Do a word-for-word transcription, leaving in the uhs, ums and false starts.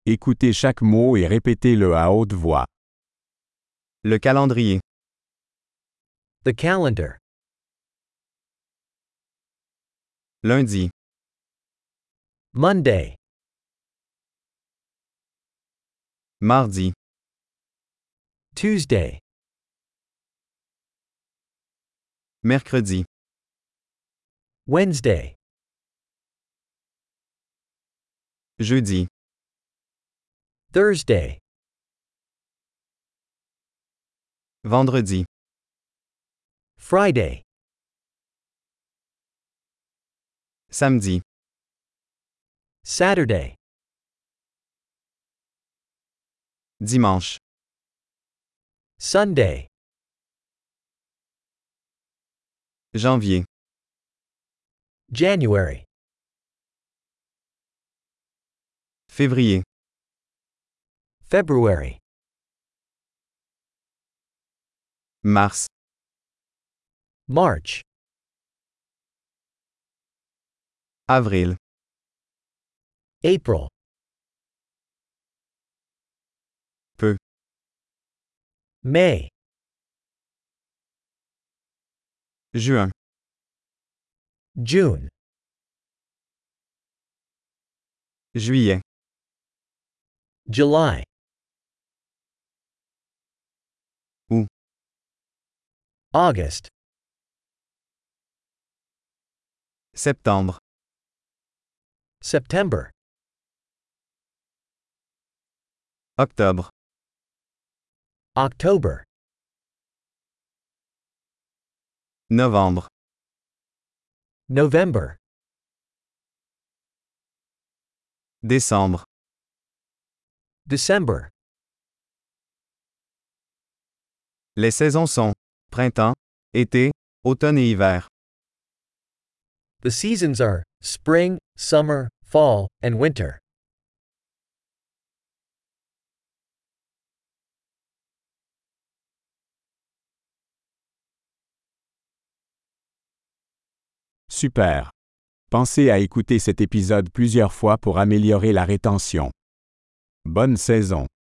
Écoutez chaque mot et répétez-le à haute voix. Le calendrier. The calendar. Lundi. Monday. Mardi. Tuesday. Mercredi. Wednesday. Jeudi. Thursday. Vendredi. Friday. Samedi. Saturday. Dimanche. Sunday. Janvier. January. Février. February. Mars. March. Avril. April. Peu. May. Juin. June. Juillet. July. Août. August. Septembre. September. Octobre. October. Novembre. November. Décembre. December. Les saisons sont printemps, été, automne et hiver. The seasons are spring, summer, fall, and winter. Super. Pensez à écouter cet épisode plusieurs fois pour améliorer la rétention. Bonne saison.